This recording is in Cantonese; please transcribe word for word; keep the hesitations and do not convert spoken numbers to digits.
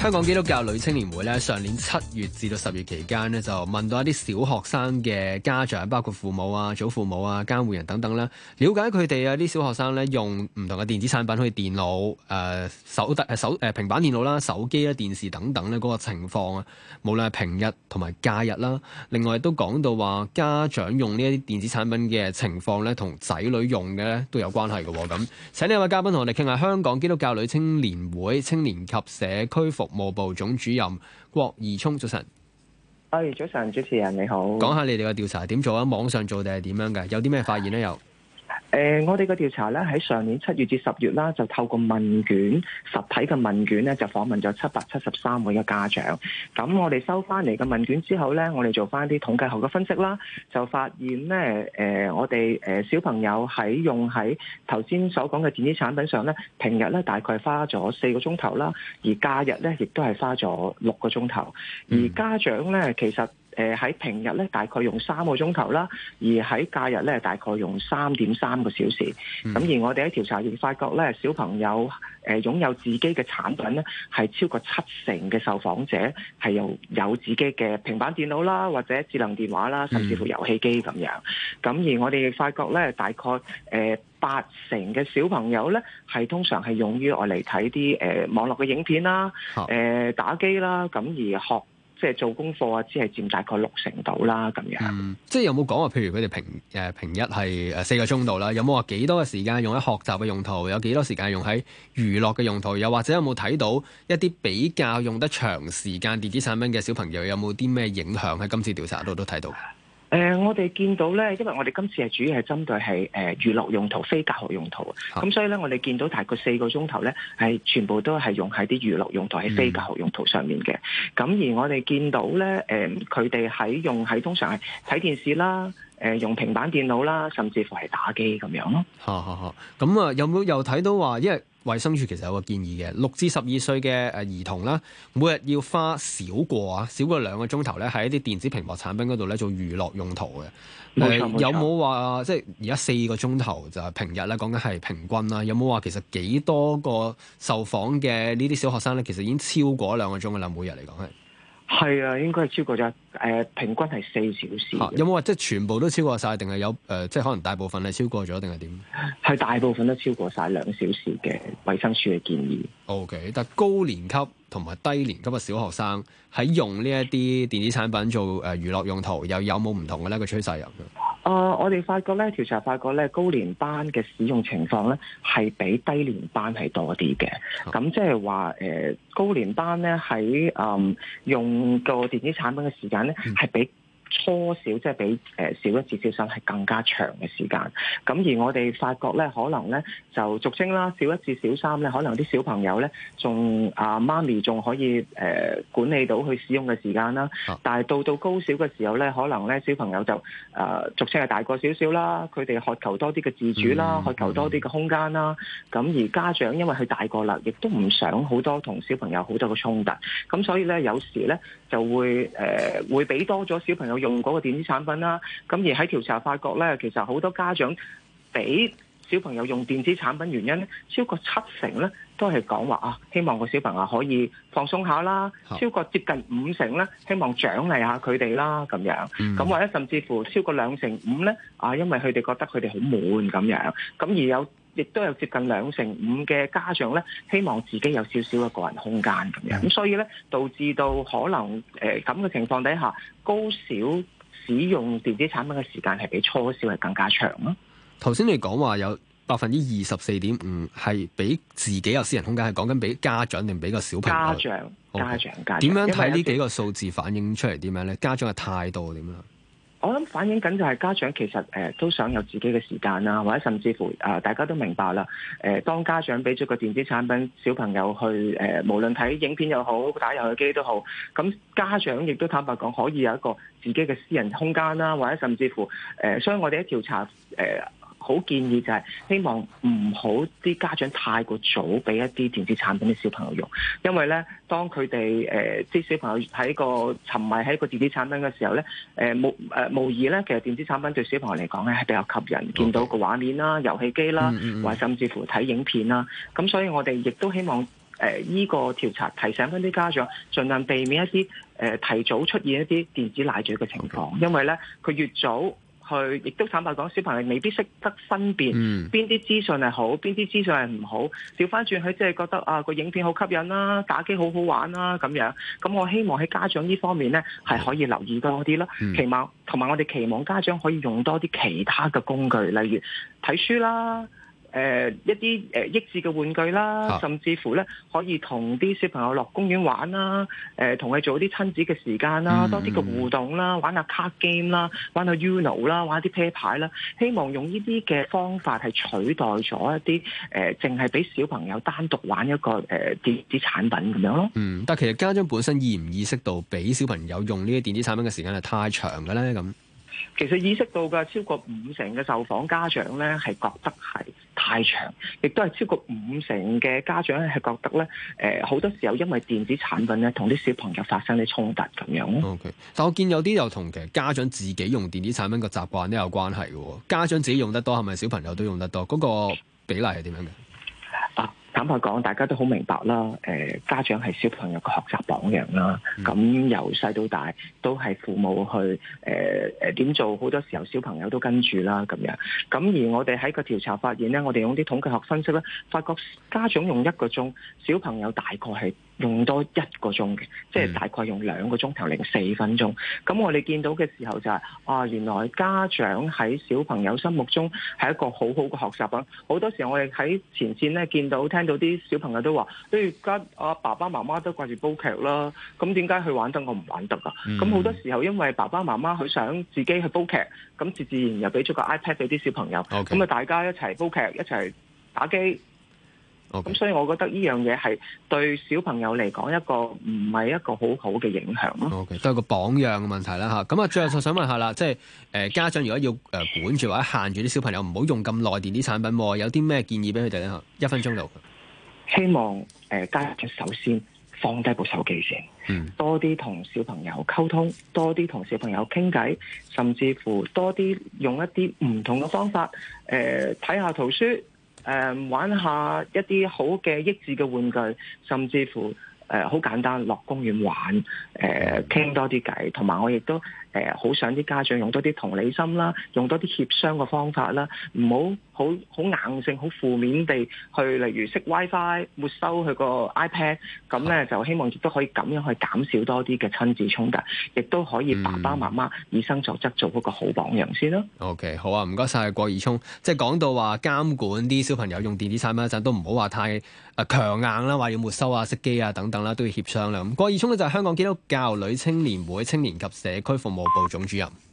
香港基督教女青年會咧，上年七月至到十月期間咧，就問到一啲小學生嘅家長，包括父母啊、祖父母啊、監護人等等啦，了解佢哋啊啲小學生咧用唔同嘅電子產品，好似電腦、誒、呃、手誒手誒平板電腦啦、手機啦、電視等等咧嗰個情況啊，無論係平日同埋假日啦。另外都講到話家長用呢一啲電子產品嘅情況咧，同仔女用嘅咧都有關係嘅喎。咁請呢位嘉賓同我哋傾下，香港基督教女青年會青年及社區服務部總主任郭義聰，早晨。 誒，早晨，主持人你好。 講下你哋嘅調查點做啊？網上做定係點樣嘅？有啲咩發現咧？又？ 誒、呃，我哋嘅調查咧喺上年七月至十月啦，就透過問卷實體嘅問卷咧，就訪問咗七百七十三位嘅家長。咁我哋收翻嚟嘅問卷之後咧，我哋做翻啲統計學嘅分析啦，就發現咧，誒、呃，我哋誒小朋友喺用喺頭先所講嘅電子產品上咧，平日咧大概花咗四個鐘頭啦，而假日咧亦都係花咗六個鐘頭。而家長咧其實誒喺平日咧大概用三個鐘頭啦，而喺假日咧大概用三點三個小時。咁、嗯、而我哋喺調查亦發覺咧，小朋友誒擁有自己嘅產品咧，係超過七成嘅受訪者係有有自己嘅平板電腦啦，或者智能電話啦，甚至乎遊戲機咁樣。咁、嗯、而我哋亦發覺咧，大概誒八成嘅小朋友咧，係通常係用於我嚟睇啲誒網絡嘅影片啦，誒、呃、打機啦，咁而學。即係做功課啊，只係佔大概六成度啦，咁樣。 嗯，即係有冇講話？譬如佢哋平誒平一係誒四個鐘度啦，有冇話幾多嘅時間用喺學習嘅用途？有幾多時間用喺娛樂嘅用途？又或者有冇睇到一啲比較用得長時間電子產品嘅小朋友有冇啲咩影響？喺今次調查度都睇到。 誒、呃，我哋見到咧，因為我哋今次係主要係針對係誒、呃、娛樂用途、非教學用途，咁、啊、所以咧，我哋見到大概四個鐘頭咧，係全部都係用喺啲娛樂用途、喺非教學用途上面嘅。咁、嗯、而我哋見到咧，誒佢哋喺用喺通常係睇電視啦，誒、呃、用平板電腦啦，甚至乎係打機咁樣咯。 嚇嚇嚇！咁啊，有冇又睇到話，因為衛生署其實有個建議嘅，六至十二歲嘅誒兒童啦，每日要花少過啊，少過兩個鐘頭咧，喺一啲電子屏幕產品嗰度咧做娛樂用途嘅。 冇錯冇錯。 有冇話即係而家四個鐘頭就係平日咧，講緊係平均啦。有冇話其實幾多個受訪嘅呢啲小學生咧，其實已經超過兩個鐘噶啦，每日嚟講係。 係啊，應該係超過咗誒、呃，平均係四小時。 啊、有冇話即係全部都超過晒，定係有誒、呃，即係可能大部分係超過咗，定係點？ 係大部分都超過晒兩小時嘅衛生署嘅建議。 O、okay, K， 但高年級同埋低年級嘅小學生喺用呢一啲電子產品做誒娛樂用途，又有冇唔同嘅呢個趨勢入去？ 誒、呃，我哋發覺咧，調查發覺咧，高年班嘅使用情況咧，係比低年班係多啲嘅。咁即係話誒，高年班咧喺誒用個電子產品嘅時間咧，係、嗯、比初小即係比誒小一至小三係更加長嘅時間。咁而我哋發覺咧，可能咧就俗稱啦，小一至小三咧，可能啲小朋友咧仲啊媽咪仲可以誒、呃、管理到去使用嘅時間啦。啊、但係到到高小嘅時候咧，可能咧小朋友就誒、呃、俗稱係大個少少啦，佢哋渴求多啲嘅自主啦，渴、嗯、求多啲嘅空間啦。咁、嗯、而家長因為佢大個啦，亦都唔想好多同小朋友好多嘅衝突。咁所以咧有時咧就會誒、呃、會俾多咗小朋友用嗰個電子產品啦，咁而喺調查發覺咧，其實好多家長俾小朋友用電子產品原因咧，超過七成咧都係講話啊，希望個小朋友可以放鬆下啦，超過接近五成咧，希望獎勵下佢哋啦，咁樣，咁、嗯、或者甚至乎超過兩成五咧，啊，因為佢哋覺得佢哋好悶咁樣，咁而有。亦都有接近兩成五嘅家長咧，希望自己有少少嘅個人空間咁樣，咁所以咧導致到可能誒咁嘅情況底下，高小使用電子產品嘅時間係比初小係更加長咯。 頭先你講話有百分之二十四點五係俾自己有私人空間，係講緊俾家長定俾個小朋友？家長、okay. 家長、家長。點樣睇呢幾個數字反映出嚟啲咩咧？家長嘅態度點樣？ 我諗反映緊就係家長其實誒、呃、都想有自己嘅時間啦，或者甚至乎誒、呃、大家都明白啦。誒、呃、當家長俾咗個電子產品小朋友去誒、呃，無論睇影片又好，打遊戲機都好，咁家長亦都坦白講可以有一個自己嘅私人空間啦，或者甚至乎誒、呃，所以我哋喺調查誒。呃好建議就係希望唔好啲家長太過早俾一啲電子產品啲小朋友用，因為咧當佢哋誒啲小朋友喺個沉迷喺個電子產品嘅時候咧，誒無誒無疑咧，其實電子產品對小朋友嚟講咧係比較吸引，見到個畫面啦、遊戲機啦，或者甚至乎睇影片啦，咁所以我哋亦都希望。誒、 誒依個調查提醒翻啲家長，盡量避免一啲誒、呃、提早出現一啲電子奶嘴嘅情況，因為咧佢越早。去，亦都坦白講，小朋友未必識得分辨邊啲資訊係好，邊啲資訊係唔好。調翻轉佢即係覺得啊個影片好吸引啦，打機好好玩啦咁樣。咁我希望喺家長呢方面咧係可以留意多啲啦。 嗯、 期望同埋我哋期望家長可以用多啲其他嘅工具，例如睇書啦。誒、呃、一啲誒益智嘅玩具啦，啊、甚至乎咧可以同啲小朋友落公園玩啦，誒同佢做啲親子嘅時間啦，嗯、多啲嘅互動啦，玩下卡 game 啦，玩下 Uno 啦，玩啲啤牌啦，希望用呢啲嘅方法係取代咗一啲誒淨係俾小朋友單獨玩一個誒、呃、電子產品咁樣咯。 嗯，但係其實家長本身意唔意識到俾小朋友用呢啲電子產品嘅時間係太長嘅咧？咁其實意識到嘅超過五成嘅受訪家長咧係覺得係太長，亦都係超過五成嘅家長咧係覺得咧，誒、呃、好多時候因為電子產品咧同啲小朋友發生啲衝突咁樣咯。 OK， 但我見有啲又同其實家長自己用電子產品個習慣都有關係嘅。家長自己用得多，係咪小朋友都用得多？嗰、嗰個比例係點樣嘅？ 啊，坦白講，大家都好明白啦。誒、呃，家長係小朋友嘅學習榜樣啦。咁、嗯、由細到大都係父母去誒誒點做，好多時候小朋友都跟住啦咁樣。咁而我哋喺個調查發現咧，我哋用啲統計學分析咧，發覺家長用一個鐘，小朋友大概係用多一個鐘嘅，即係大概用兩個鐘頭零四分鐘。咁我哋見到嘅時候就係、是、啊，原來家長喺小朋友心目中係一個好好嘅學習品。好多時候我哋喺前線咧見到聽到啲小朋友都話：誒而家啊爸爸媽媽都掛住煲劇啦，咁點解佢玩得我唔玩得啊？咁好、嗯、多時候因為爸爸媽媽佢想自己去煲劇，咁自自然又俾咗個 iPad 俾啲小朋友，咁啊 Okay. 大家一齊煲劇，一齊打機。咁 Okay. 所以我覺得呢樣嘢係對小朋友嚟講一個唔係一個好好嘅影響咯。 OK， 都係個榜樣嘅問題啦嚇。咁啊，最後就想問下啦，即係誒家長如果要誒管住或者限住啲小朋友唔好用咁耐電子產品，有啲咩建議俾佢哋咧？一分鐘度。 希望誒、呃、家長首先放低部手機先，嗯、多啲同小朋友溝通，多啲同小朋友傾偈，甚至乎多啲用一啲唔同嘅方法，誒睇下圖書，誒、呃、玩下一啲好嘅益智嘅玩具，甚至乎誒好、呃、簡單落公園玩，誒傾多啲偈，同埋我亦都誒好、呃、想啲家長用多啲同理心啦，用多啲協商嘅方法啦，唔好好好硬性、好負面地去，例如熄 WiFi、沒收佢個 iPad，咁咧就希望亦都可以咁樣去減少多啲嘅親子衝突，亦都可以爸爸媽媽以身作則，做嗰個好榜樣先咯。 OK， 好啊，唔該晒郭以聰。即係講到話監管啲小朋友用電子產品嗰陣，都唔好話太誒強硬啦，話要沒收啊、熄機啊等等啦，都要協商啦。咁郭以聰咧就係香港基督教女青年會青年及社區服務部總主任。